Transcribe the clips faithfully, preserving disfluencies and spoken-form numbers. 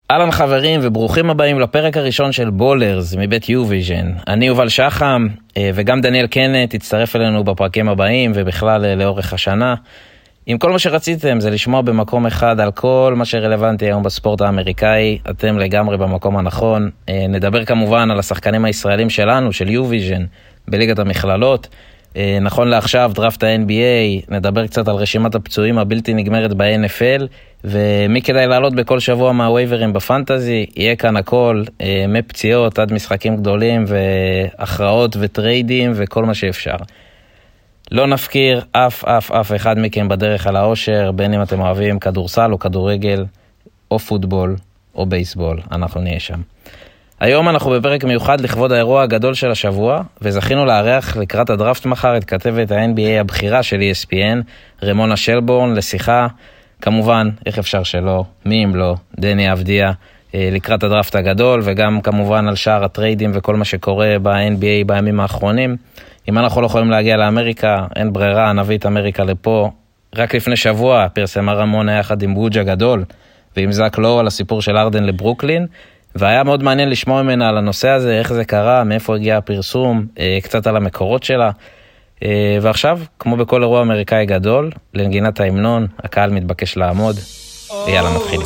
אהלן חברים וברוכים הבאים לפרק הראשון של בולרס מבית יו-ויז'ן. אני יובל שחם וגם דניאל קנט תצטרף אלינו בפרקים הבאים ובכלל לאורך השנה. אם כל מה שרציתם זה לשמוע במקום אחד על כל מה שרלוונטי היום בספורט האמריקאי, אתם לגמרי במקום הנכון. נדבר כמובן על השחקנים הישראלים שלנו, של יו-ויז'ן, בליגת המכללות. נכון לעכשיו, דראפט ה-אן בי איי, נדבר קצת על רשימת הפצועים הבלתי נגמרת ב-אן אף אל, ומי כדאי לעלות בכל שבוע מהווייברים בפנטזי, יהיה כאן הכל, מפציעות עד משחקים גדולים, והכרעות וטריידים וכל מה שאפשר. לא נפקיר אף אף אף אחד מכם בדרך על האושר, בין אם אתם אוהבים כדורסל או כדורגל, או פוטבול או בייסבול, אנחנו נהיה שם. היום אנחנו בפרק מיוחד לכבוד האירוע הגדול של השבוע, וזכינו לארח לקראת הדראפט מחר את כתבת ה-אן בי איי הבכירה של אי אס פי אן, רמונה שלבורן, לשיחה, כמובן, איך אפשר שלא, מי אם לא, דני אבדיה, לקראת הדראפט הגדול, וגם כמובן על שאר הטריידים וכל מה שקורה ב-אן בי איי בימים האחרונים. אם אנחנו לא יכולים להגיע לאמריקה, אין ברירה, נביא את אמריקה לפה. רק לפני שבוע פרסמה רמונה יחד עם בוג'ה גדול, ועם זק לואו על הסיפור של ארדן לברוקלין, והיה מאוד מעניין לשמוע ממנה על הנושא הזה, איך זה קרה, מאיפה הגיע הפרסום, קצת על המקורות שלה. ועכשיו, כמו בכל אירוע אמריקאי גדול, לנגינת ההמנון, הקהל מתבקש לעמוד, ויאללה מתחילים.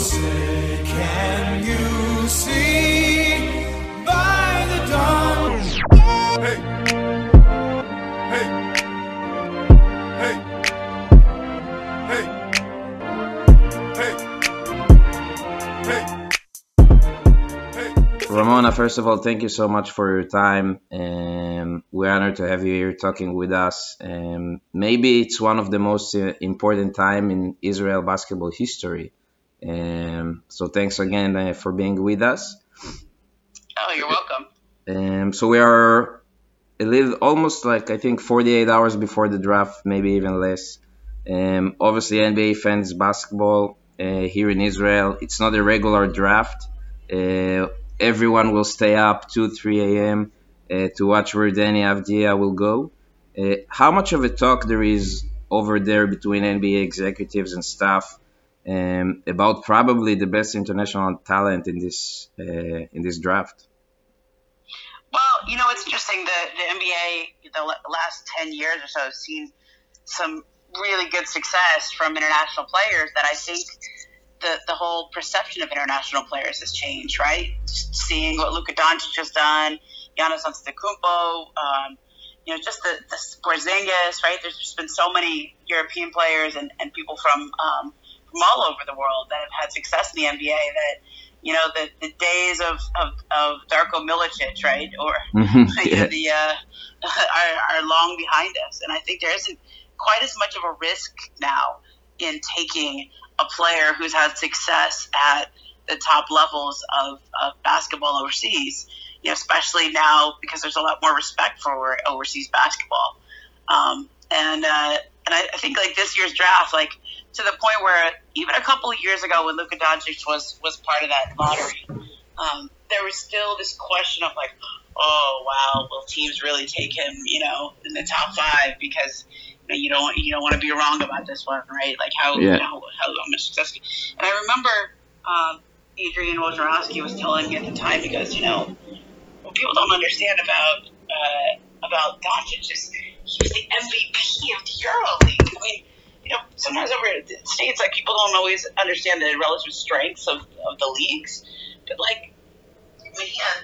Ramona, first of all, thank you so much for your time. Um, we're honored to have you here talking with us. Um, maybe it's one of the most uh, important time in Israel basketball history. Um, so thanks again uh, for being with us. Oh, you're welcome. Um, so we are a little, almost like I think forty-eight hours before the draft, maybe even less. Um, obviously, N B A fans basketball uh, here in Israel. It's not a regular draft. Uh, Everyone will stay up two, three a.m. Uh, to watch where Deni Avdija will go. Uh, how much of a talk there is over there between N B A executives and staff um, about probably the best international talent in this uh, in this draft? Well, you know, it's interesting. The, the N B A, the last ten years or so, has seen some really good success from international players that I think The, the whole perception of international players has changed, right? Just seeing what Luka Doncic has done, Giannis Antetokounmpo, um, you know, just the, the Porzingis, right? There's just been so many European players and, and people from um, from all over the world that have had success in the N B A that, you know, the, the days of, of, of Darko Milicic, right? Or mm-hmm, yeah. you know, the uh, are, are long behind us. And I think there isn't quite as much of a risk now in taking a player who's had success at the top levels of, of basketball overseas, you know, especially now because there's a lot more respect for overseas basketball. Um, and uh, and I, I think like this year's draft, like to the point where even a couple of years ago when Luka Doncic was was part of that lottery, um, there was still this question of like, oh wow, will teams really take him, you know, in the top five because you don't you don't want to be wrong about this one, right? Like how yeah. how, how much success. And I remember um, Adrian Wojnarowski was telling me at the time, he goes, you know, what people don't understand about uh, about Doncic is he was the M V P of the EuroLeague. I mean, you know, sometimes over in the States, like people don't always understand the relative strengths of, of the leagues, but like, I mean, yeah,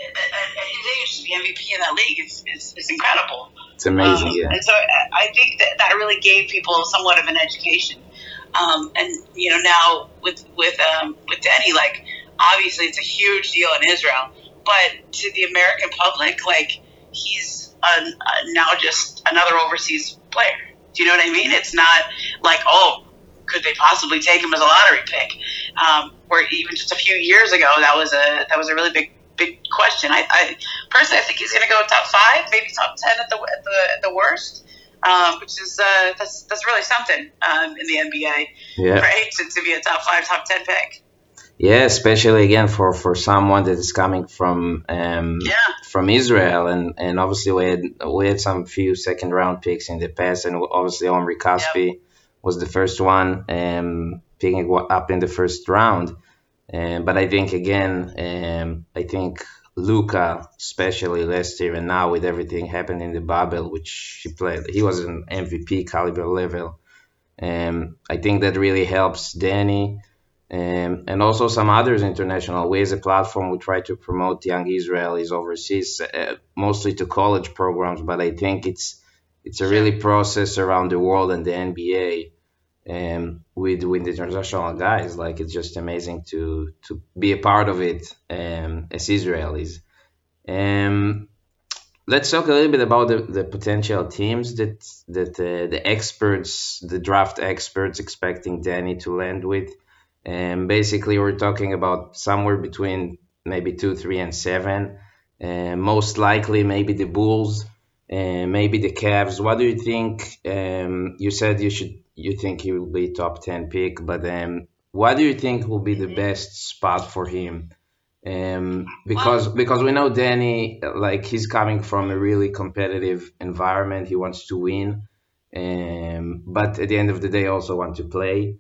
his age to be M V P in that league is is, is incredible. It's amazing, um, yeah. And so I think that that really gave people somewhat of an education. Um, and you know, now with with um, with Deni, like obviously it's a huge deal in Israel, but to the American public, like he's a, a, now just another overseas player. Do you know what I mean? It's not like, oh, could they possibly take him as a lottery pick? Um, where even just a few years ago, that was a that was a really big. big question. I, I personally, I think he's going to go top five, maybe top ten at the at the, at the worst, um, which is uh, that's that's really something um, in the N B A, yeah. right? To, to be a top five, top ten pick. Yeah, especially again for, for someone that is coming from um, yeah. from Israel, and, and obviously we had we had some few second round picks in the past, and obviously Omri Caspi yep. was the first one um, picking up in the first round. Um, but I think again, um, I think Luka, especially last year and now with everything happened in the bubble, which he played, he was an M V P caliber level. Um, I think that really helps Danny, um, and also some others international. We as a platform, we try to promote young Israelis overseas, uh, mostly to college programs. But I think it's it's a Sure. really process around the world and the N B A, um, with with the international guys. Like it's just amazing to to be a part of it, um, as Israelis. Um, let's talk a little bit about the, the potential teams that that uh, the experts, the draft experts, expecting Danny to land with. And basically, we're talking about somewhere between maybe two, three, and seven. Uh, most likely, maybe the Bulls, and maybe the Cavs. What do you think? Um, you said you should, you think he will be top ten pick, but um, what do you think will be the best spot for him? Um, because because we know Danny, like he's coming from a really competitive environment. He wants to win, um, but at the end of the day, also want to play.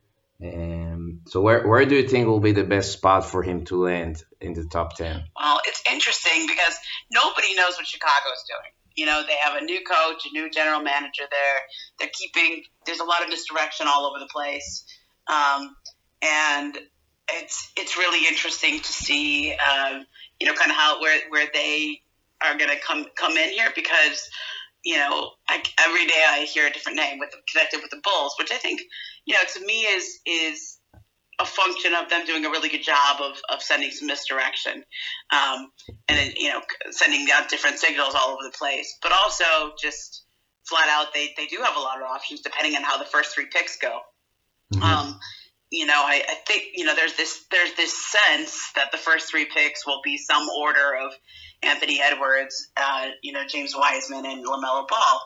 Um, so where where do you think will be the best spot for him to land in the top ten? Well, it's interesting because nobody knows what Chicago's doing. You know, they have a new coach, a new general manager there. They're keeping, there's a lot of misdirection all over the place. Um, and it's it's really interesting to see, um, you know, kind of how, where, where they are going to come, come in here because, you know, I, every day I hear a different name with connected with the Bulls, which I think, you know, to me is, is, a function of them doing a really good job of, of sending some misdirection, um, and then, you know, sending out different signals all over the place. But also just flat out, they, they do have a lot of options depending on how the first three picks go. Mm-hmm. Um, you know, I, I think, you know, there's this there's this sense that the first three picks will be some order of Anthony Edwards, uh, you know, James Wiseman, and LaMelo Ball.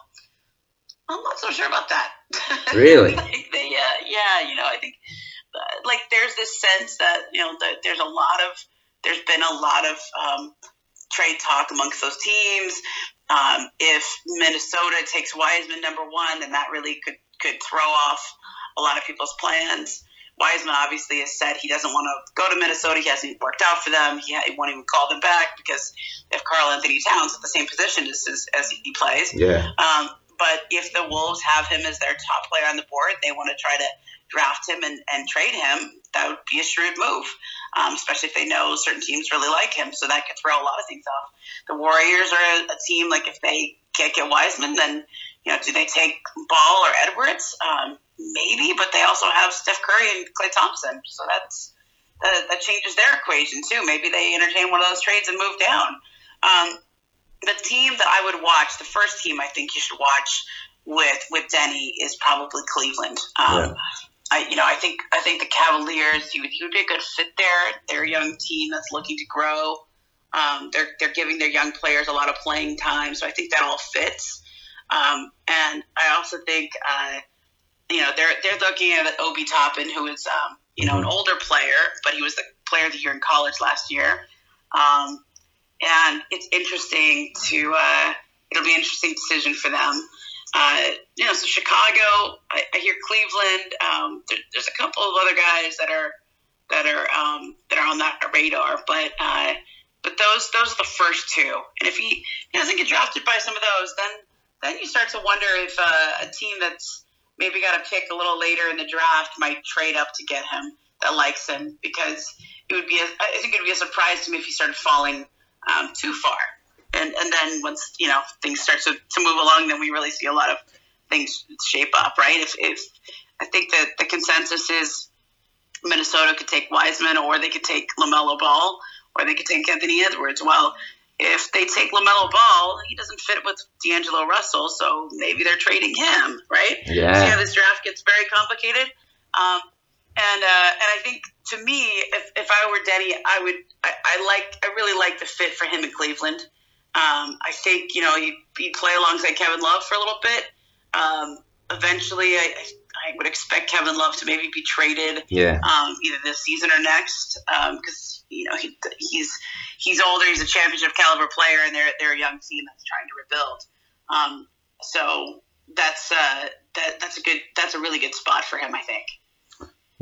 I'm not so sure about that. Really? like they, uh, yeah, you know, I think. Like there's this sense that, you know, that there's a lot of, there's been a lot of um, trade talk amongst those teams. Um, if Minnesota takes Wiseman number one, then that really could, could throw off a lot of people's plans. Wiseman obviously has said he doesn't want to go to Minnesota. He hasn't worked out for them. He, he won't even call them back because they have Karl Anthony Towns at the same position as, as, as he plays. Yeah. Um, but if the Wolves have him as their top player on the board, they want to try to draft him and, and trade him. That would be a shrewd move, um, especially if they know certain teams really like him. So that could throw a lot of things off. The Warriors are a, a team, like if they can't get Wiseman, then, you know, do they take Ball or Edwards? Um, maybe, but they also have Steph Curry and Klay Thompson. So that's that, that changes their equation too. Maybe they entertain one of those trades and move down. Um, the team that I would watch, the first team I think you should watch with with Denny is probably Cleveland. Um, yeah. I, you know, I think I think the Cavaliers, he would, he would be a good fit there. They're a young team that's looking to grow. Um, they're they're giving their young players a lot of playing time, so I think that all fits. Um, and I also think, uh, you know, they're they're looking at Obi Toppin, who is um, you know, an older player, but he was the player of the year in college last year. Um, and it's interesting to uh, it'll be an interesting decision for them. Uh, you know, so Chicago, I, I hear Cleveland. Um, there, there's a couple of other guys that are that are um, that are on that radar, but uh, but those those are the first two. And if he, he doesn't get drafted by some of those, then then you start to wonder if uh, a team that's maybe got a pick a little later in the draft might trade up to get him that likes him, because it would be a, I think it would be a surprise to me if he started falling um, too far. And and then once, you know, things start to, to move along, then we really see a lot of things shape up, right? If, if I think that the consensus is Minnesota could take Wiseman, or they could take LaMelo Ball, or they could take Anthony Edwards. Well, if they take LaMelo Ball, he doesn't fit with D'Angelo Russell, so maybe they're trading him, right? Yeah. So yeah, this draft gets very complicated. Um, and uh, and I think, to me, if, if I were Denny, I would I, I like I really like the fit for him in Cleveland. Um, I think, you know, he'd, he'd play alongside Kevin Love for a little bit. Um, eventually, I, I would expect Kevin Love to maybe be traded, yeah. um, either this season or next, because um, you know he, he's he's older. He's a championship caliber player, and they're they're a young team that's trying to rebuild. Um, so that's uh, that that's a good that's a really good spot for him, I think.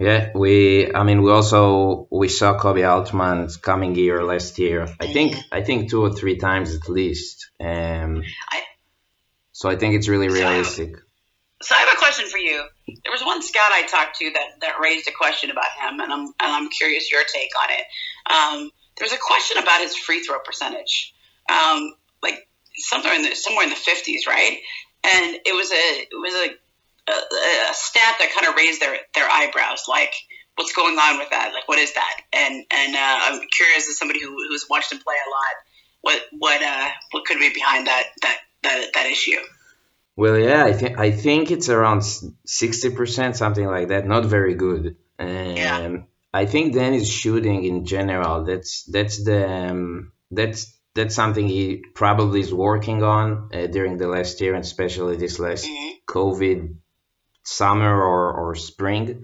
Yeah, we. I mean, we also we saw Kobe Altman coming here last year. I think I think two or three times at least. Um, I, so I think it's really so I have, realistic. so I have a question for you. There was one scout I talked to that, that raised a question about him, and I'm and I'm curious your take on it. Um, there's a question about his free throw percentage, um, like somewhere in the somewhere in the fifties, right? And it was a it was a a, a stat that kind of raised their, their eyebrows, like what's going on with that? Like what is that? And and uh, I'm curious as somebody who, who's watched him play a lot, what what uh, what could be behind that that that, that issue? Well, yeah, I think I think it's around sixty percent, something like that. Not very good. Um, yeah. I think Danny's shooting in general. That's that's the um, that's that's something he probably is working on uh, during the last year, and especially this last mm-hmm. COVID summer or, or spring.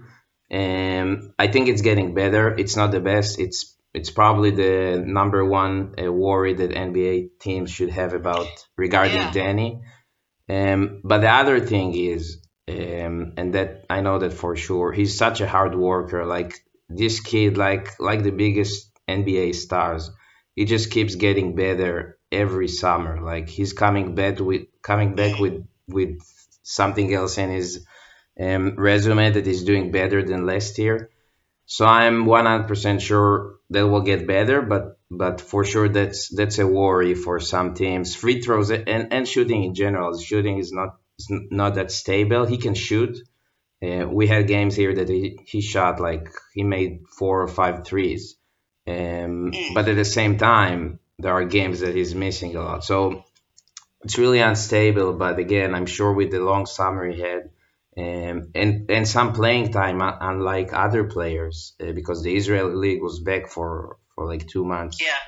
Um, I think it's getting better. It's not the best. It's it's probably the number one uh, worry that N B A teams should have about regarding yeah. Danny. Um, but the other thing is, um, and that I know that for sure, he's such a hard worker. Like this kid, like like the biggest N B A stars, he just keeps getting better every summer. Like he's coming back with coming back with with something else in his um, resume that is doing better than last year. So I'm one hundred percent sure that will get better, but but for sure that's that's a worry for some teams. Free throws and, and shooting in general. Shooting is not is not that stable. He can shoot. Uh, we had games here that he, he shot like he made four or five threes. Um, but at the same time, there are games that he's missing a lot. So it's really unstable. But again, I'm sure with the long summer he had, Um, and and some playing time, unlike other players, uh, because the Israeli league was back for, for like two months. Yeah.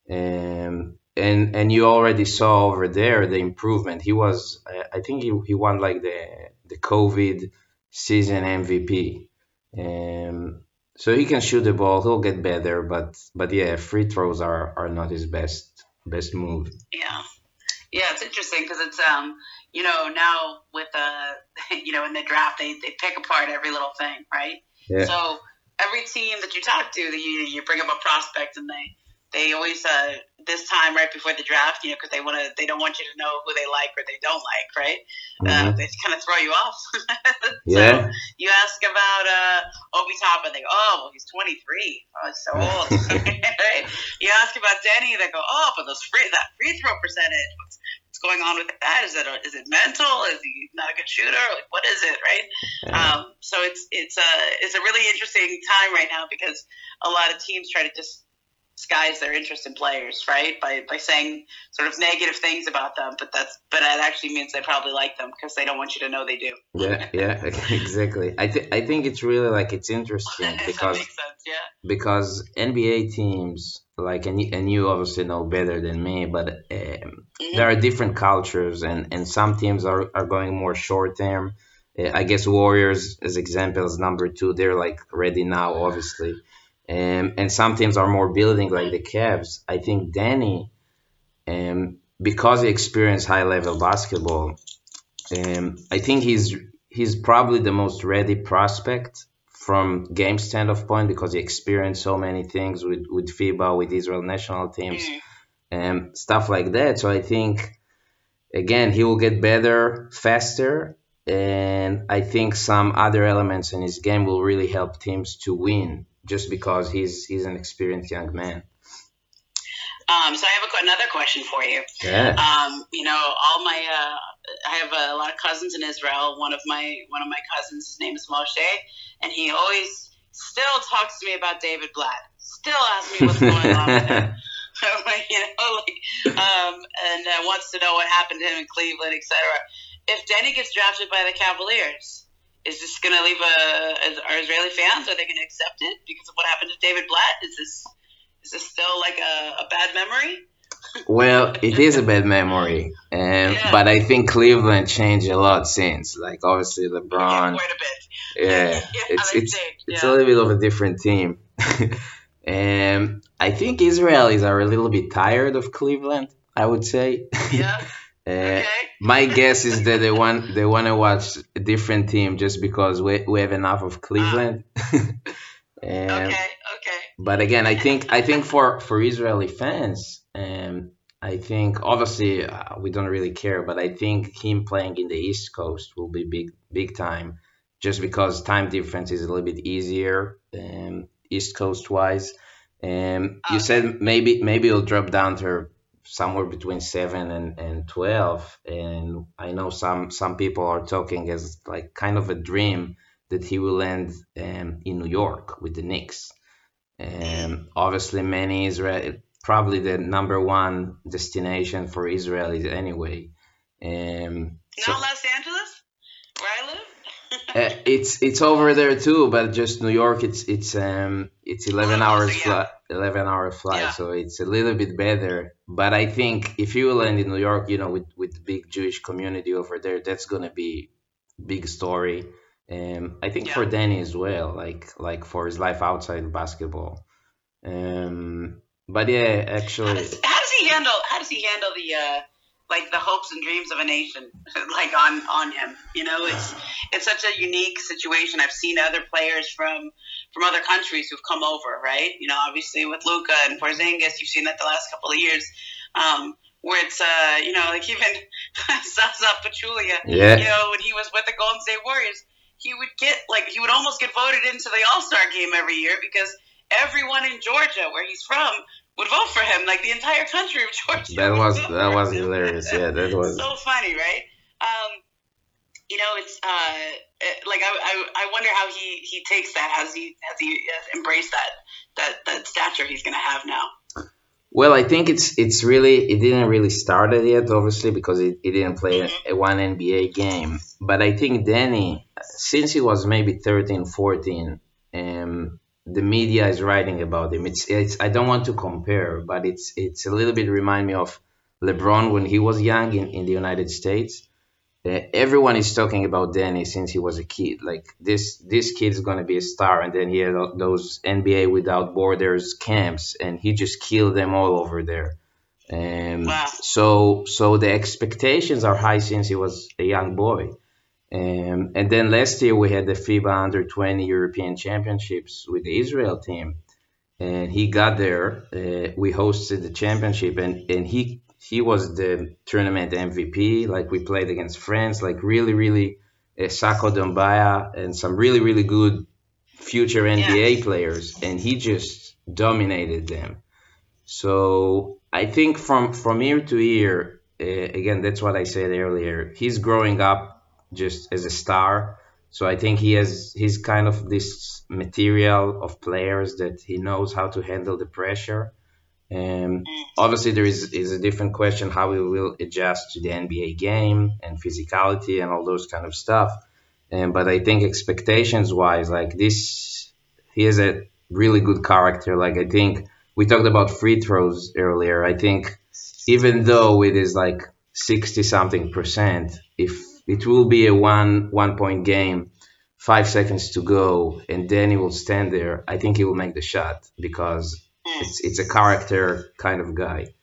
Um, and and you already saw over there the improvement. He was, uh, I think he, he won like the the COVID season M V P. Um, so he can shoot the ball. He'll get better, but but yeah, free throws are, are not his best best move. Yeah. Yeah, it's interesting because it's um. You know, now with, uh, you know, in the draft, they, they pick apart every little thing, right? Yeah. So every team that you talk to, you you bring up a prospect, and they they always uh, this time right before the draft, you know, because they want to they don't want you to know who they like or they don't like, right? Mm-hmm. Uh, they kind of throw you off. So yeah. You ask about uh, Obi Toppin, they go, oh, well, he's twenty-three. Oh, he's so old. Right? You ask about Denny, they go, oh, but those free that free throw percentage. What's, going on with that? Is it is it mental? Is he not a good shooter? Like, what is it, right? Yeah. Um, so it's it's a it's a really interesting time right now because a lot of teams try to disguise their interest in players, right? By by saying sort of negative things about them, but that's but that actually means they probably like them because they don't want you to know they do. Yeah, yeah, exactly. I think I think it's really like it's interesting because that makes sense, yeah. Because N B A teams. Like and you, and you obviously know better than me, but um, mm-hmm. there are different cultures, and, and some teams are, are going more short term. Uh, I guess Warriors, as examples, number two, they're like ready now, obviously, um, and some teams are more building, like the Cavs. I think Danny, um, because he experienced high level basketball, um, I think he's he's probably the most ready prospect from game standpoint because he experienced so many things with, with FIBA, with Israel national teams, and um, stuff like that. So I think, again, he will get better faster. And I think some other elements in his game will really help teams to win just because he's he's an experienced young man. Um, so I have a, another question for you. Yeah. Um, you know, all my uh, I have a lot of cousins in Israel. One of my one of my cousins, his name is Moshe, and he always still talks to me about David Blatt. Still asks me what's going on with him. You know, like, um, and uh, wants to know what happened to him in Cleveland, et cetera. If Denny gets drafted by the Cavaliers, is this going to leave a? Are Israeli fans, are they going to accept it because of what happened to David Blatt? Is this Is this still like a, a bad memory? Well, it is a bad memory, um, yeah. But I think Cleveland changed a lot since. Like obviously LeBron, yeah, quite a bit. Yeah, yeah it's it's changed, it's yeah. a little bit of a different team. um, I think Israelis are a little bit tired of Cleveland. I would say. Yeah. Uh, Okay. my guess is that they want they want to watch a different team just because we we have enough of Ah, Cleveland. Um, okay, okay. but again, I think I think for for Israeli fans, um, I think obviously uh, we don't really care, but I think him playing in the East Coast will be big big time, just because time difference is a little bit easier, um, East Coast wise. Um, you Okay. said maybe maybe it'll drop down to somewhere between seven and, and twelve, and I know some some people are talking as like kind of a dream that he will end um, in New York with the Knicks. Mm. Um, obviously, many Israel, probably the number one destination for Israelis anyway. Um, so Not Los Angeles, where I live. uh, it's it's over there too, but just New York. It's it's um it's A eleven little closer, hours yeah. flight, eleven hour flight, Yeah. so it's a little bit better. But I think if you land in New York, you know, with with the big Jewish community over there, that's gonna be big story. Um, I think Yeah. for Danny as well, like like for his life outside basketball. Um, but yeah, How actually, does how does he handle how does he handle the uh like the hopes and dreams of a nation like on on him? You know, it's it's such a unique situation. I've seen other players from from other countries who've come over, right? You know, obviously with Luca and Porzingis, you've seen that the last couple of years. Um, where it's uh, you know, like even Zaza Pachulia, you yeah, know, when he was with the Golden State Warriors, he would get like he would almost get voted into the All Star game every year because everyone in Georgia, where he's from, would vote for him. Like the entire country of Georgia that would was vote that for was him. hilarious. Yeah, that was. So funny, right? Um, you know, it's uh, it- like I, I, I wonder how he, he takes that. Has he has he has embraced that that that stature he's going to have now? Well, I think it's it's really it didn't really start it yet, obviously, because it, it didn't play a, Mm-hmm. a one N B A game. But I think Danny, since he was maybe thirteen, fourteen, um, the media is writing about him. It's it's I don't want to compare, but it's it's a little bit remind me of LeBron when he was young in, in the United States. Uh, everyone is talking about Danny since he was a kid. Like this, this kid's gonna be a star, and then he had those N B A Without Borders camps, and he just killed them all over there. Um, Wow. so, so the expectations are high since he was a young boy. Um, and then last year we had the FIBA Under twenty European Championships with the Israel team, and he got there. Uh, we hosted the championship, and and he he was the tournament M V P. Like we played against France, like really really uh, Sako Dombaya and some really really good future N B A Yes. players, and he just dominated them. So I think from from year to year, uh, again, that's what I said earlier. He's growing up just as a star. So I think he has he's kind of this material of players that he knows how to handle the pressure. Um, Mm. obviously, there is is a different question how he will adjust to the N B A game and physicality and all those kind of stuff. Um, but I think expectations wise, like this, he has a really good character. Like I think we talked about free throws earlier. I think even though it is like sixty something percent, if it will be a one one point game, five seconds to go, and then he will stand there, I think he will make the shot because Mm. it's it's a character kind of guy.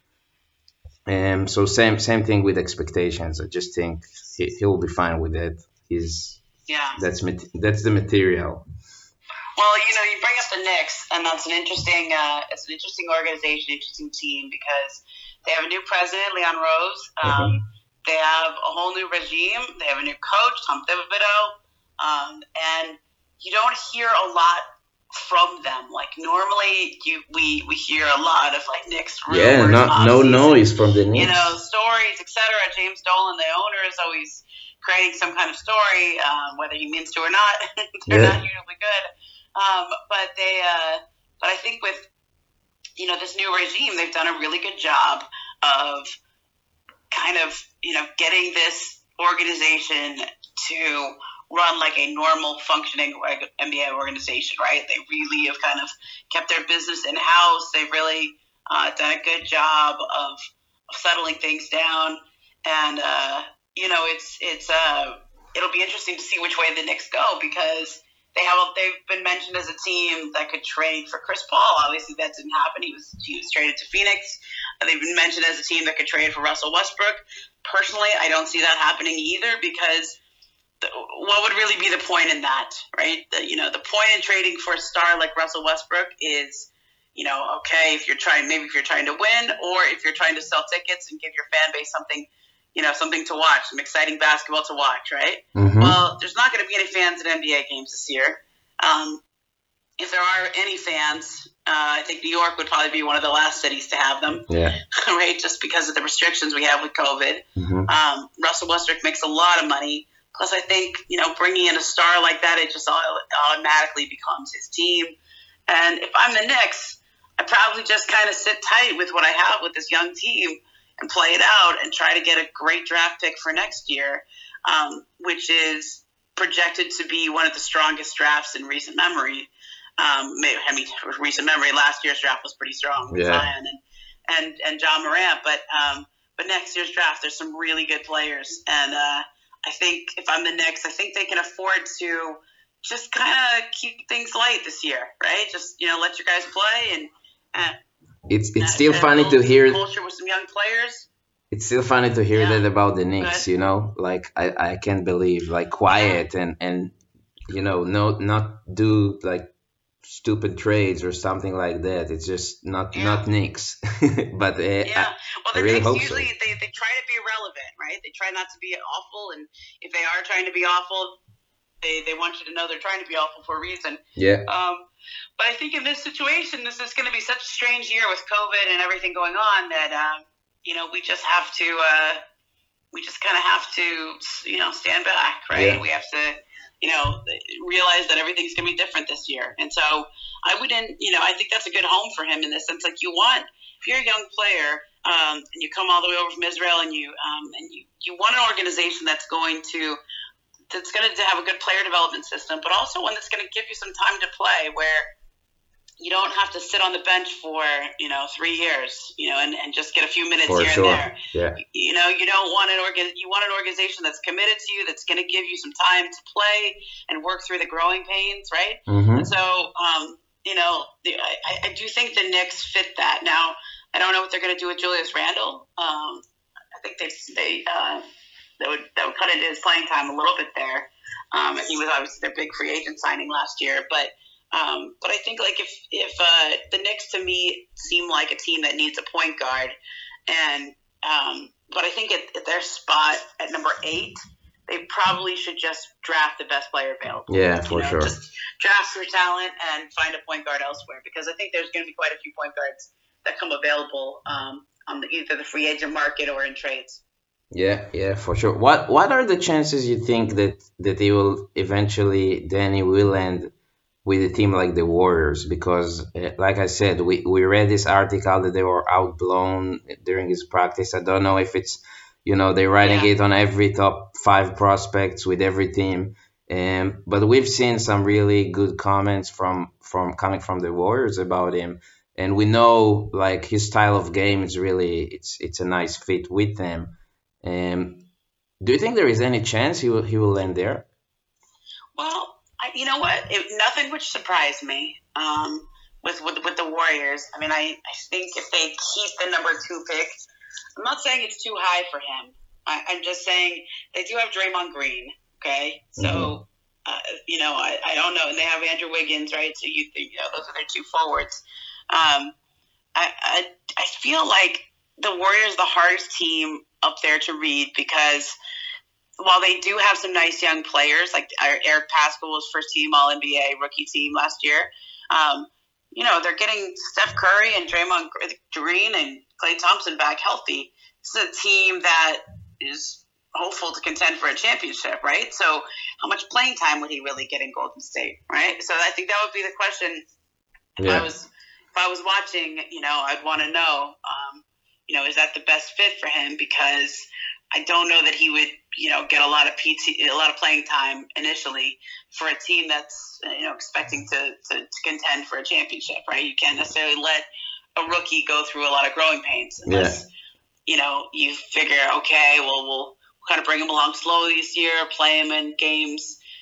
Um, so same same thing with expectations. I just think he he will be fine with it. He's Yeah. that's mat- that's the material. Well, you know, you bring up the Knicks, and that's an interesting, uh, it's an interesting organization, interesting team because they have a new president, Leon Rose. Um, Mhm. they have a whole new regime. They have a new coach, Tom Thibodeau, um, and you don't hear a lot from them. Like normally, you we we hear a lot of like Knicks Yeah, rumors, no no offseason, noise from the you Knicks. know, stories, et cetera. James Dolan, the owner, is always creating some kind of story, um, whether he means to or not. They're not Yeah, usually good. Um, but they, uh, but I think with you know this new regime, they've done a really good job of kind of you know getting this organization to run like a normal functioning N B A organization, right? They really have kind of kept their business in house. They've really uh, done a good job of, of settling things down, and uh, you know it's it's uh, it'll be interesting to see which way the Knicks go because They have they've been mentioned as a team that could trade for Chris Paul. Obviously, that didn't happen. He was he was traded to Phoenix. They've been mentioned as a team that could trade for Russell Westbrook. Personally, I don't see that happening either because the, what would really be the point in that, right? The, you know, the point in trading for a star like Russell Westbrook is, you know, okay, if you're trying, maybe if you're trying to win, or if you're trying to sell tickets and give your fan base something, you know, something to watch, some exciting basketball to watch, right? Mm-hmm. Well, there's not going to be any fans at N B A games this year. Um, if there are any fans, uh, I think New York would probably be one of the last cities to have them, yeah. right? Just because of the restrictions we have with COVID. Mm-hmm. Um, Russell Westbrook makes a lot of money. Plus, I think, you know, bringing in a star like that, it just automatically becomes his team. And if I'm the Knicks, I probably just kind of sit tight with what I have with this young team and play it out and try to get a great draft pick for next year, um, which is projected to be one of the strongest drafts in recent memory. Um, maybe, I mean, recent memory, last year's draft was pretty strong with yeah. Zion and, and, and John Morant. But, um, but next year's draft, there's some really good players. And uh, I think if I'm the Knicks, I think they can afford to just kind of keep things light this year, right? Just, you know, let your guys play and, and It's it's still funny to hear culture with some young players. It's still funny to hear Yeah. that about the Knicks, you know, like I, I can't believe like quiet and, and you know, no not do like stupid trades or something like that. It's just not Yeah. not Knicks. But uh, Yeah, well, the I really Knicks hope so. usually they, they try to be relevant, right? They try not to be awful, and if they are trying to be awful, they, they want you to know they're trying to be awful for a reason. yeah, Um, but I think in this situation, this is going to be such a strange year with COVID and everything going on that um, you know we just have to uh, we just kind of have to you know stand back, right? Yeah. We have to you know realize that everything's going to be different this year, and so I wouldn't you know I think that's a good home for him in the sense like you want if you're a young player um, and you come all the way over from Israel and you um, and you you want an organization that's going to that's going to have a good player development system, but also one that's going to give you some time to play where you don't have to sit on the bench for, you know, three years, you know, and, and just get a few minutes for here sure. and there. Yeah, You know, you don't want an organ, you want an organization that's committed to you, that's going to give you some time to play and work through the growing pains, right? mm-hmm. And so, um, you know, the, I, I do think the Knicks fit that. Now, I don't know what they're going to do with Julius Randle. Um, I think they, they, uh, that would that would cut into his playing time a little bit there. Um, and he was obviously their big free agent signing last year, but um, but I think like if if uh, the Knicks to me seem like a team that needs a point guard, and um, but I think at, at their spot at number eight, they probably should just draft the best player available. Yeah, for you know, sure. Just draft for talent and find a point guard elsewhere because I think there's going to be quite a few point guards that come available um, on the, either the free agent market or in trades. Yeah, yeah, for sure. What what are the chances you think that that he will eventually Danny will end with a team like the Warriors? Because, uh, like I said, we, we read this article that they were outblown during his practice. I don't know if it's, you know, they're writing Yeah. it on every top five prospects with every team. Um, but we've seen some really good comments from from coming from the Warriors about him, and we know like his style of game is really it's it's a nice fit with them. Um, do you think there is any chance he will he will land there? Well, I, you know what? It, nothing would surprise me um, with, with with the Warriors. I mean, I, I think if they keep the number two pick, I'm not saying it's too high for him. I, I'm just saying they do have Draymond Green, okay? So, Mhm. uh, you know, I, I don't know. And they have Andrew Wiggins, right? So, you, you know, those are their two forwards. Um, I, I, I feel like the Warriors are the hardest team up there to read because while they do have some nice young players, like Eric Paschall was first team All N B A rookie team last year, um, you know, they're getting Steph Curry and Draymond Green and Klay Thompson back healthy. This is a team that is hopeful to contend for a championship, right? So how much playing time would he really get in Golden State, right? So I think that would be the question. If Yeah. I was if I was watching, you know, I'd want to know, um, you know, is that the best fit for him? Because I don't know that he would, you know, get a lot of P T, a lot of playing time initially for a team that's, you know, expecting to, to, to contend for a championship, right? You can't necessarily let a rookie go through a lot of growing pains unless, you know, you figure, okay, well, we'll kind of bring him along slowly this year, play him in games,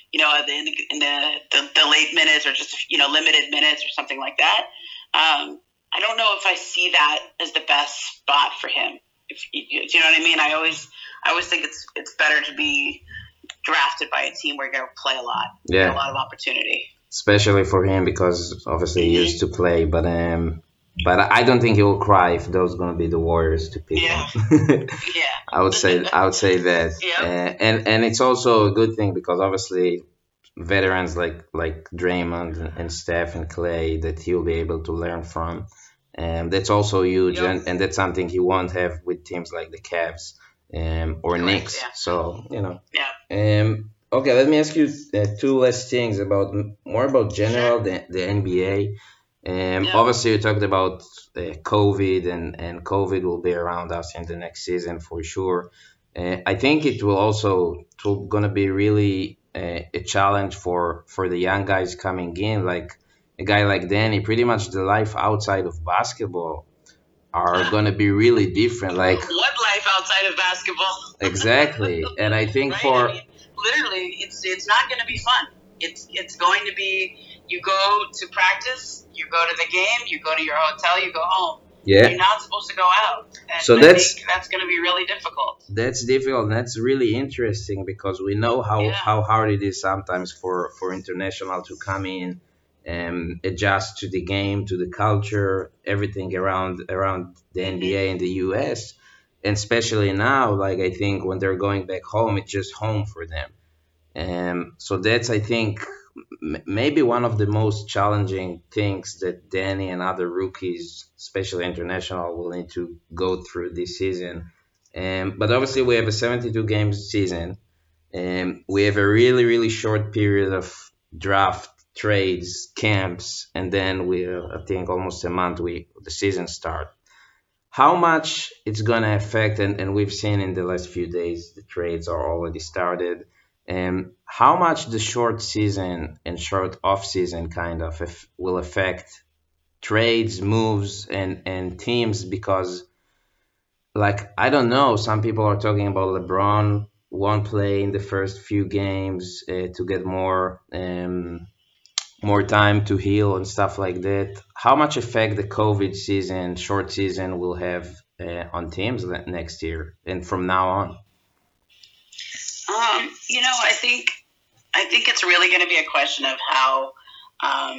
you know, in the, in the, the, the late minutes or just, you know, limited minutes or something like that. Um, I don't know if I see that as the best spot for him. If you, do you know what I mean? I always, I always think it's it's better to be drafted by a team where you're going to play a lot, Yeah, get a lot of opportunity. especially for him because obviously he used to play, but um, but I don't think he will cry if those going to be the Warriors to pick Yeah. him. Yeah. I would say I would say that, Yep. uh, and and it's also a good thing because obviously veterans like like Draymond and, and Steph and Clay that he'll be able to learn from, and that's also huge, Yep. and, and that's something he won't have with teams like the Cavs um, or Correct, Knicks. yeah. So you know. Yeah. Um, okay, let me ask you uh, two last things about more about general the, the N B A. Um, Yeah. Obviously, you talked about uh, COVID, and, and COVID will be around us in the next season for sure. Uh, I think it will also it will gonna be really uh, a challenge for for the young guys coming in, like a guy like Danny. Pretty much the life outside of basketball are gonna be really different. Like What life outside of basketball? exactly, and I think Right? for I mean, literally, it's it's not going to be fun. It's it's going to be, you go to practice, you go to the game, you go to your hotel, you go home. yeah. You're not supposed to go out. And So I that's- think that's going to be really difficult. That's difficult. And that's really interesting because we know how, Yeah. how hard it is sometimes for, for international to come in and adjust to the game, to the culture, everything around around the N B A and the U S. And especially now, like I think when they're going back home, it's just home for them. Um, so that's I think m- maybe one of the most challenging things that Danny and other rookies, especially international, will need to go through this season. Um, but obviously, we have a seventy-two games season, and we have a really, really short period of draft, trades, camps, and then we, uh, I think, almost a month we the season start. How much it's gonna affect, and, and we've seen in the last few days the trades are already started. And how much the short season and short off season kind of if, will affect trades, moves, and and teams because, like I don't know, some people are talking about LeBron won't play in the first few games uh, to get more um, more time to heal and stuff like that. How much effect the COVID season, short season, will have uh, on teams le- next year and from now on? Um, you know, I think I think it's really going to be a question of how um,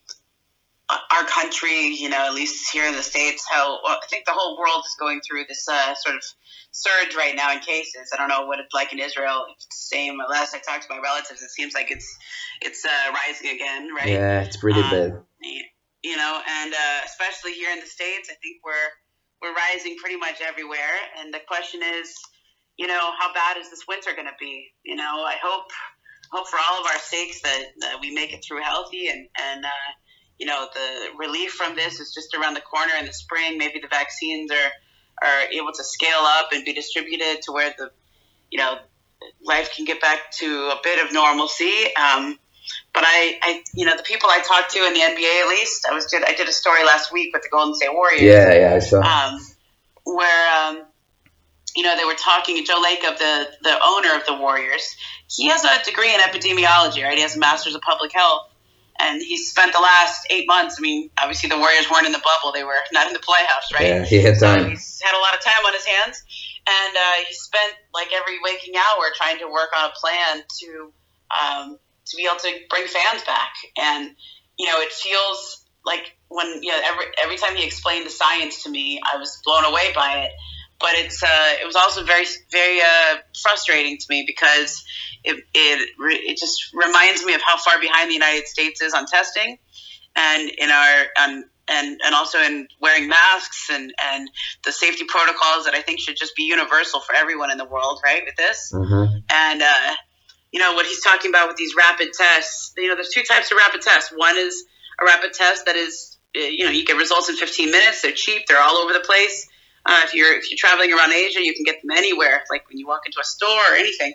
our country, you know, at least here in the States, how well, I think the whole world is going through this uh, sort of surge right now in cases. I don't know what it's like in Israel. If it's the same. Last I talked to my relatives, it seems like it's it's uh, rising again, right? Yeah, it's pretty Um, bad. You know, and uh, especially here in the States, I think we're we're rising pretty much everywhere. And the question is, you know, how bad is this winter going to be? You know, I hope hope for all of our sakes that, that we make it through healthy, and and uh, you know, the relief from this is just around the corner in the spring. Maybe the vaccines are are able to scale up and be distributed to where the, you know, life can get back to a bit of normalcy. Um, but I, I, you know, the people I talked to in the N B A, at least, I was did I did a story last week with the Golden State Warriors. Yeah, yeah, I saw. Um, where um, you know, they were talking. Joe Lacob, the the owner of the Warriors, he has a degree in epidemiology, right? He has a master's of public health, and he spent the last eight months. I mean, obviously the Warriors weren't in the bubble; they were not in the playoffs, right? Yeah, he had So time. he's had a lot of time on his hands, and uh, he spent like every waking hour trying to work on a plan to um, to be able to bring fans back. And you know, it feels like when you know every every time he explained the science to me, I was blown away by it. But it's uh, it was also very very uh, frustrating to me because it it it just reminds me of how far behind the United States is on testing, and in our um, and and also in wearing masks and, and the safety protocols that I think should just be universal for everyone in the world, right? With this, Mm-hmm. and uh, you know what he's talking about with these rapid tests. You know, there's two types of rapid tests. One is a rapid test that is, uh, you know, you get results in fifteen minutes. They're cheap. They're all over the place. Uh, if you're if you're traveling around Asia, you can get them anywhere. Like when you walk into a store or anything.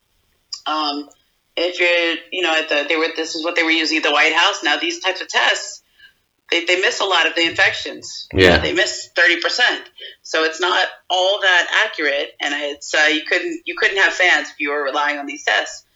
Um, if you're, you know, at the they were this is what they were using at the White House. Now these types of tests, they they miss a lot of the infections. Yeah. You know, they miss thirty percent. So it's not all that accurate, and it's uh, you couldn't you couldn't have fans if you were relying on these tests.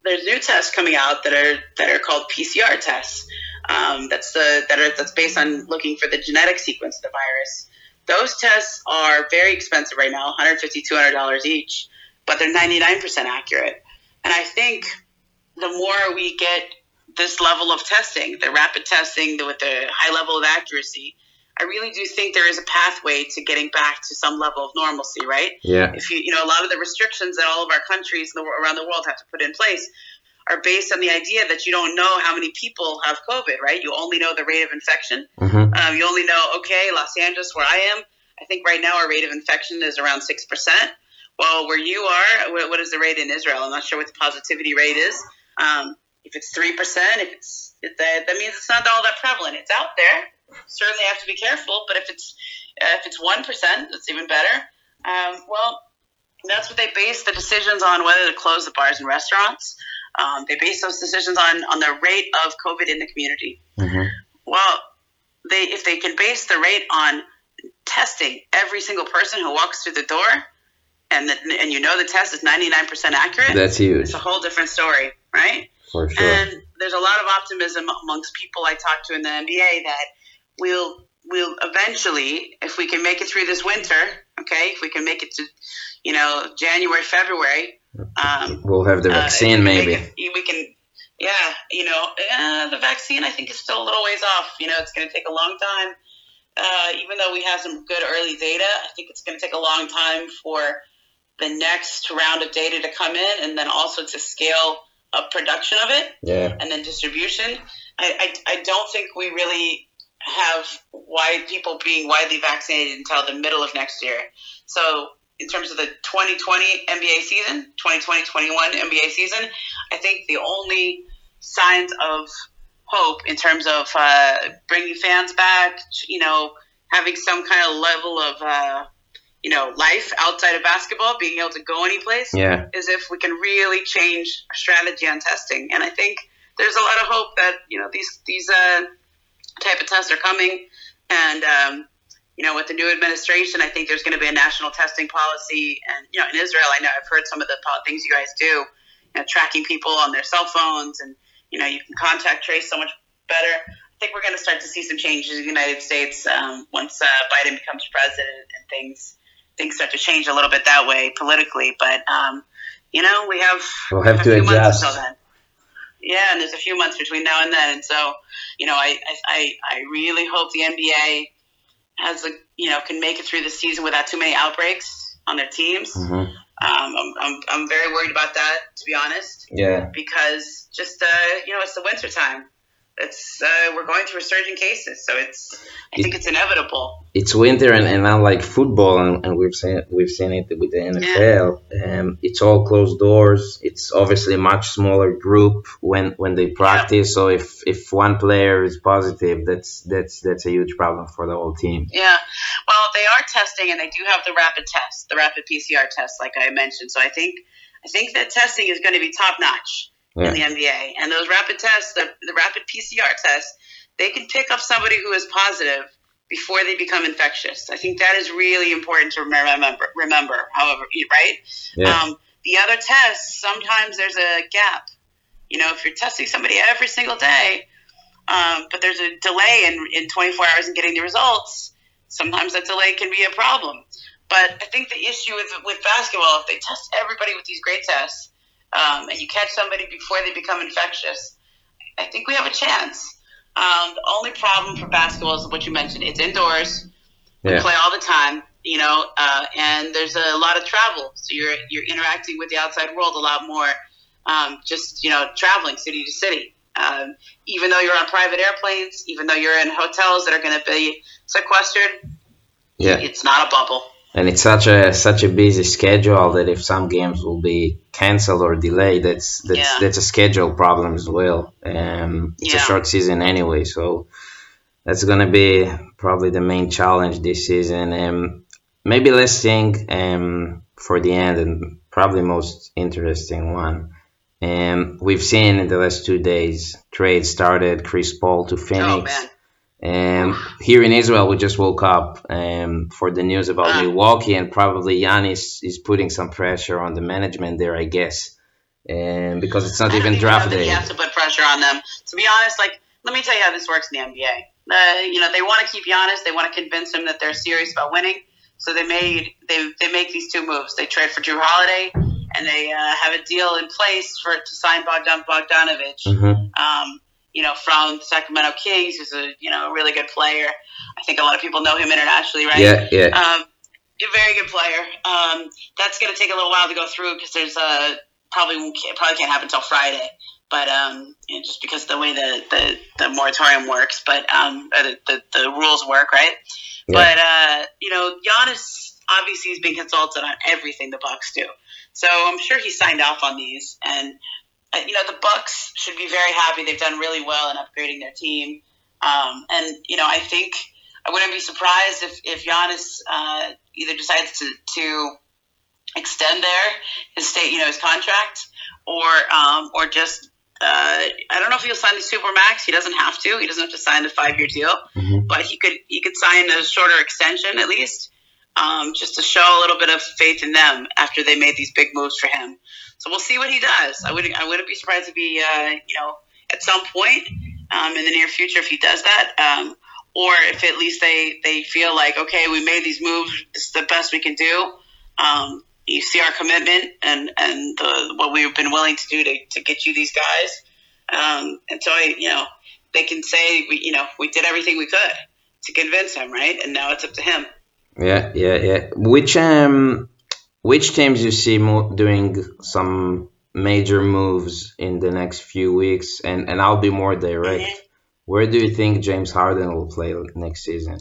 there's new tests coming out that are that are called P C R tests. Um, that's the that are that's based on looking for the genetic sequence of the virus. Those tests are very expensive right now, one hundred fifty dollars, two hundred dollars each, but they're ninety-nine percent accurate. And I think the more we get this level of testing, the rapid testing with the high level of accuracy, I really do think there is a pathway to getting back to some level of normalcy, right? Yeah. If you, you know, a lot of the restrictions that all of our countries around the world have to put in place are based on the idea that you don't know how many people have COVID, right? You only know the rate of infection. Mm-hmm. Um, you only know, okay, Los Angeles, where I am, I think right now our rate of infection is around six percent. Well, where you are, what is the rate in Israel? I'm not sure what the positivity rate is. Um, if it's three percent, if it's if that, that means it's not all that prevalent. It's out there. Certainly have to be careful, but if it's uh, if it's one percent, that's even better. Um, well, that's what they base the decisions on, whether to close the bars and restaurants. Um, they base those decisions on, on the rate of COVID in the community. Mm-hmm. Well, they if they can base the rate on testing every single person who walks through the door, and the, and you know the test is ninety-nine percent accurate, that's huge. It's a whole different story, right? For sure. And there's a lot of optimism amongst people I talk to in the N B A that we'll we'll eventually, if we can make it through this winter, okay, if we can make it to, you know, January, February, um, we'll have the vaccine, uh, maybe. It, we can, yeah, you know, uh, the vaccine I think is still a little ways off. You know, it's going to take a long time. Uh, even though we have some good early data, I think it's going to take a long time for the next round of data to come in, and then also to scale up production of it, yeah, and then distribution. I, I, I don't think we really have wide people being widely vaccinated until the middle of next year. So in terms of the twenty twenty N B A season, twenty twenty twenty-one N B A season, I think the only signs of hope in terms of uh, bringing fans back, you know, having some kind of level of, uh, you know, life outside of basketball, being able to go anyplace, yeah, is if we can really change our strategy on testing. And I think there's a lot of hope that, you know, these these uh, type of tests are coming. And, um, you know, with the new administration, I think there's going to be a national testing policy. And, you know, in Israel, I know I've heard some of the things you guys do, you know, tracking people on their cell phones, and, you know, you can contact trace so much better. I think we're going to start to see some changes in the United States um, once uh, Biden becomes president, and things things start to change a little bit that way politically. But, um, you know, we have, we'll have a to few adjust. months until then. Yeah, and there's a few months between now and then. And so, you know, I, I, I really hope the N B A has, a, you know, can make it through the season without too many outbreaks on their teams. Mm-hmm. Um, I'm, I'm, I'm very worried about that, to be honest. Yeah. Because just, uh, you know, it's the winter time. It's uh, we're going through resurgent cases, so it's I it, think it's inevitable. It's winter, and, and unlike football, and, and we've seen we've seen it with the N F L. Yeah. Um, it's all closed doors. It's obviously a much smaller group when, when they practice. Yeah. So if, if one player is positive, that's that's that's a huge problem for the whole team. Yeah, well, they are testing, and they do have the rapid test, the rapid P C R test, like I mentioned. So I think I think that testing is going to be top notch. Yeah. In the N B A. And those rapid tests, the, the rapid P C R tests, they can pick up somebody who is positive before they become infectious. I think that is really important to remember, remember however, right? Yeah. Um, the other tests, sometimes there's a gap. You know, if you're testing somebody every single day, um, but there's a delay in, in twenty-four hours in getting the results, sometimes that delay can be a problem. But I think the issue with, with basketball, if they test everybody with these great tests, Um, and you catch somebody before they become infectious, I think we have a chance. Um, the only problem for basketball is what you mentioned. It's indoors. We yeah. play all the time, you know, uh, and there's a lot of travel. So you're you're interacting with the outside world a lot more, um, just, you know, traveling city to city. Um, even though you're on private airplanes, even though you're in hotels that are going to be sequestered, yeah. it's not a bubble. And it's such a such a busy schedule that if some games will be canceled or delayed, that's that's yeah. that's a schedule problem as well. Um, it's yeah. a short season anyway, so that's gonna be probably the main challenge this season. Um, maybe let's think um, for the end, and probably most interesting one. Um, we've seen in the last two days trade started Chris Paul to Phoenix. Oh, man. Um, here in Israel, we just woke up um, for the news about uh, Milwaukee, and probably Giannis is putting some pressure on the management there, I guess. um, because it's not even draft day. You have to put pressure on them. To be honest, like, let me tell you how this works in the N B A. Uh, you know, they want to keep Giannis. They want to convince him that they're serious about winning. So they made they they make these two moves. They trade for Drew Holiday, and they uh, have a deal in place for to sign Bogdan Bogdanovic. Mm-hmm. Um, you know, from the Sacramento Kings, who's a you know a really good player. I think a lot of people know him internationally, right? Yeah, yeah. Um, a very good player. Um, that's going to take a little while to go through because there's a probably can't, probably can't happen until Friday. But um, you know, just because of the way the, the, the moratorium works, but um, the, the the rules work, right? Yeah. But uh, you know, Giannis obviously is being consulted on everything the Bucks do, so I'm sure he signed off on these. And uh, you know, the Bucks should be very happy. They've done really well in upgrading their team. Um, and you know, I think I wouldn't be surprised if if Giannis uh, either decides to to extend their his state, you know, his contract, or um, or just. Uh, I don't know if he'll sign the Supermax. He doesn't have to. He doesn't have to sign the five-year deal, mm-hmm. but he could he could sign a shorter extension at least, um, just to show a little bit of faith in them after they made these big moves for him. So we'll see what he does. I wouldn't I wouldn't be surprised if he uh, you know at some point um, in the near future if he does that, um, or if at least they they feel like okay we made these moves. This is the best we can do. Um, You see our commitment and and the, what we've been willing to do to, to get you these guys, um, and so I, you know they can say we you know we did everything we could to convince him, right? And now it's up to him. Yeah, yeah, yeah. Which um which teams you see mo- doing some major moves in the next few weeks? And and I'll be more direct. Mm-hmm. Where do you think James Harden will play next season?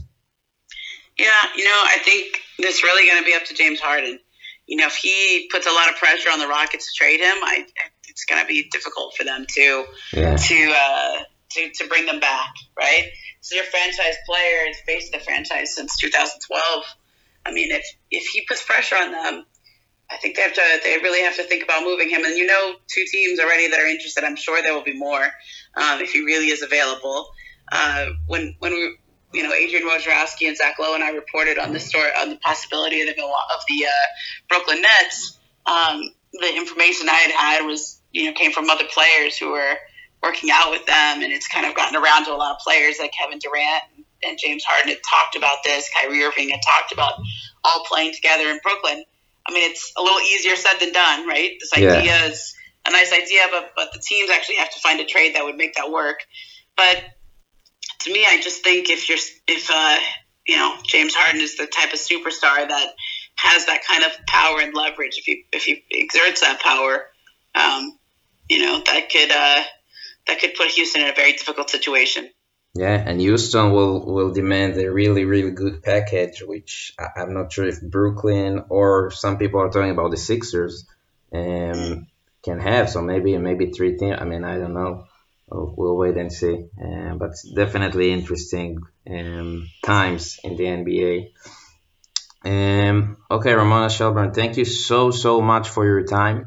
Yeah, you know I think this is really going to be up to James Harden. You know, if he puts a lot of pressure on the Rockets to trade him, I, it's going to be difficult for them to yeah. to, uh, to to bring them back, right? So your franchise player, the face of the franchise since two thousand twelve. I mean, if if he puts pressure on them, I think they have to. They really have to think about moving him. And you know, two teams already that are interested. I'm sure there will be more um, if he really is available. Uh, when when we. You know, Adrian Wojnarowski and Zach Lowe and I reported on the story on the possibility of the of the uh, Brooklyn Nets. Um, the information I had had was, you know, came from other players who were working out with them, and it's kind of gotten around to a lot of players like Kevin Durant and James Harden had talked about this. Kyrie Irving had talked about all playing together in Brooklyn. I mean, it's a little easier said than done, right? This idea yeah. is a nice idea, but but the teams actually have to find a trade that would make that work. But to me, I just think if you're, if uh, you know, James Harden is the type of superstar that has that kind of power and leverage, if he if he exerts that power, um, you know, that could uh, that could put Houston in a very difficult situation. Yeah, and Houston will will demand a really really good package, which I'm not sure if Brooklyn or some people are talking about the Sixers um, can have. So maybe maybe three teams. I mean, I don't know. We'll wait and see, uh, but it's definitely interesting um, times in the N B A. Um, okay, Ramona Shelburne, thank you so, so much for your time.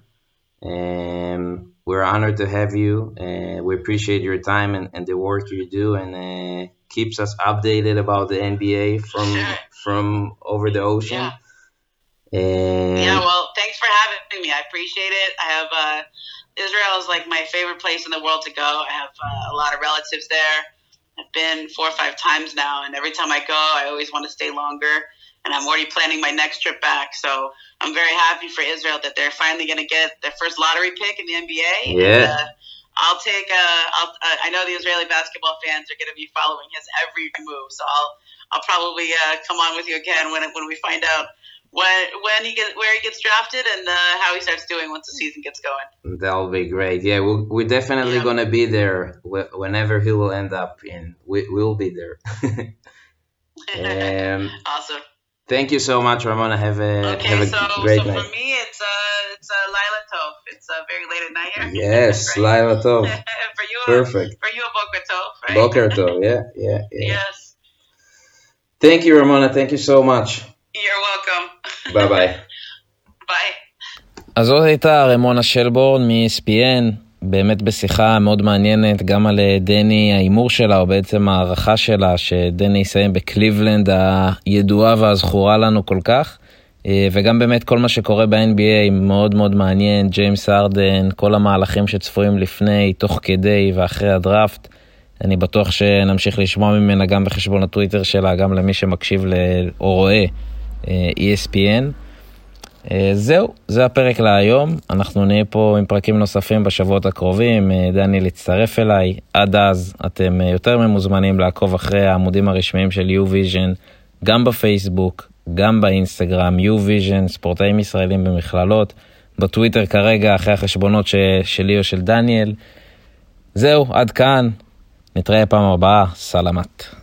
Um, we're honored to have you. Uh, we appreciate your time and, and the work you do, and uh, keeps us updated about the N B A from sure. from over the ocean. Yeah. And yeah, well, thanks for having me. I appreciate it. I have... Uh, Israel is like my favorite place in the world to go. I have uh, a lot of relatives there. I've been four or five times now, and every time I go, I always want to stay longer. And I'm already planning my next trip back. So I'm very happy for Israel that they're finally going to get their first lottery pick in the N B A. Yeah. And, uh, I'll take. Uh, I'll, uh, I know the Israeli basketball fans are going to be following his every move. So I'll I'll probably uh, come on with you again when when we find out. When when he gets where he gets drafted and uh, how he starts doing once the season gets going. That'll be great. Yeah, we'll, we're definitely yeah. gonna be there whenever he will end up in. We we'll be there. um, awesome. Thank you so much, Ramona. Have a okay, have a so, great so night. For me, it's uh it's uh, Laila Tov. It's uh, very late at night here. Yes, Laila Tov. for you, perfect. For you, a Boker Tov, right? Boker Tov. Yeah, yeah, yeah. Yes. Thank you, Ramona. Thank you so much. You're welcome. ביי ביי. ביי. אז זאת הייתה רמונה שלבורן מ-E S P N, באמת בשיחה מאוד מעניינת גם על דני, האימור שלה, או בעצם הערכה שלה, שדני יסיים בקליבלנד הידועה והזכורה לנו כל כך. וגם באמת כל מה שקורה ב-אן בי איי מאוד מאוד מעניין, ג'יימס הרדן, כל המהלכים שצפויים לפני, תוך כדי ואחרי הדראפט, אני בטוח שנמשיך לשמוע ממנה גם בחשבון הטוויטר שלה, גם למי שמקשיב או רואה אי אס פי אן. זהו, זה הפרק להיום, אנחנו נהיה פה עם פרקים נוספים בשבועות הקרובים, דניאל יצטרף אליי, עד אז אתם יותר ממוזמנים לעקוב אחרי העמודים הרשמיים של U-Vision, גם בפייסבוק, גם באינסטגרם, U-Vision, ספורטאים ישראלים במכללות, בטוויטר כרגע אחרי החשבונות ש... שלי או של דניאל. זהו, עד כאן, נתראה פעם הבאה, סלמת.